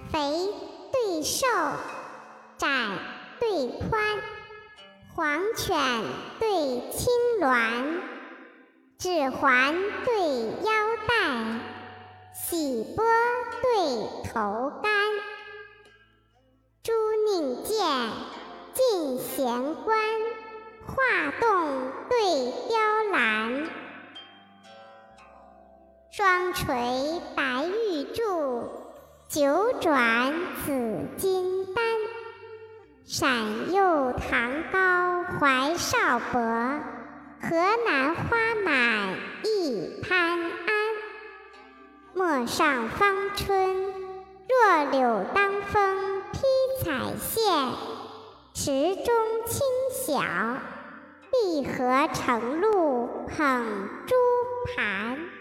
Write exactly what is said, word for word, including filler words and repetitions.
肥对瘦，窄对宽，黄犬对青鸾，指环对腰带，喜波对头竿。朱宁剑，进贤官，画栋对雕栏。双垂白玉柱，九转紫金丹。闪右堂高怀少伯，河南花满一潘安。陌上芳春，弱柳当风披彩线。池中清晓，碧荷成露捧珠盘。